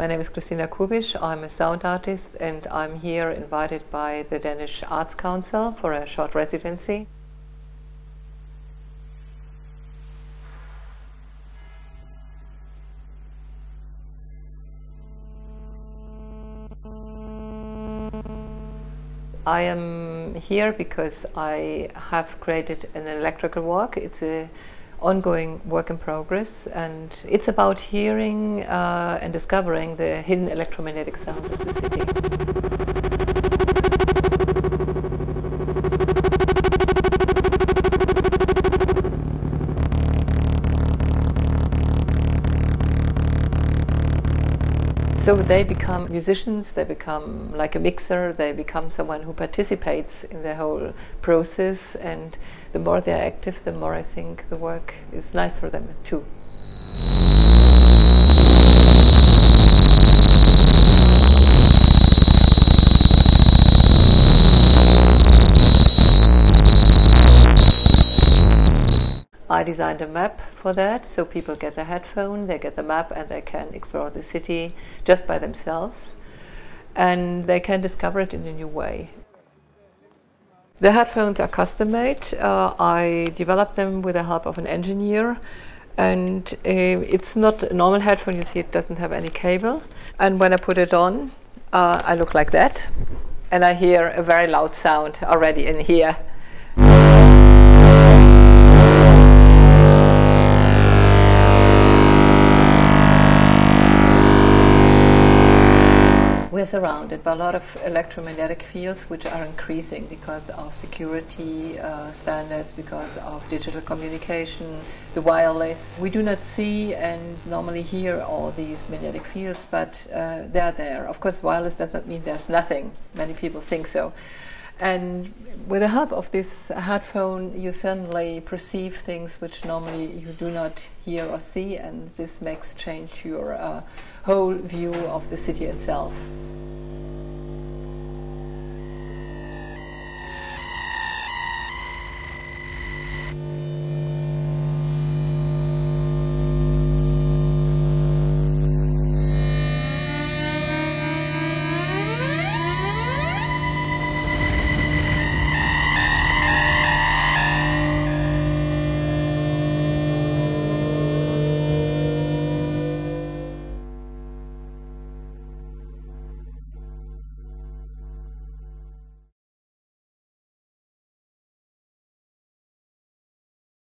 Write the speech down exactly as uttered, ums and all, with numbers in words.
My name is Christina Kubisch. I'm a sound artist and I'm here invited by the Danish Arts Council for a short residency. I am here because I have created an electrical walk. It's a ongoing work in progress, and it's about hearing uh, and discovering the hidden electromagnetic sounds of the city. So they become musicians, they become like a mixer, they become someone who participates in the whole process, and the more they're active, the more I think the work is nice for them too. I designed a map for that, so people get the headphone, they get the map, and they can explore the city just by themselves, and they can discover it in a new way. The headphones are custom-made. Uh, I developed them with the help of an engineer, and uh, it's not a normal headphone. You see, it doesn't have any cable, and when I put it on, uh, I look like that, and I hear a very loud sound already in here. We're surrounded by a lot of electromagnetic fields which are increasing because of security uh, standards, because of digital communication, the wireless. We do not see and normally hear all these magnetic fields, but uh, they're there. Of course, wireless does not mean there's nothing. Many people think so. And with the help of this headphone, you suddenly perceive things which normally you do not hear or see, and this makes change your uh, whole view of the city itself.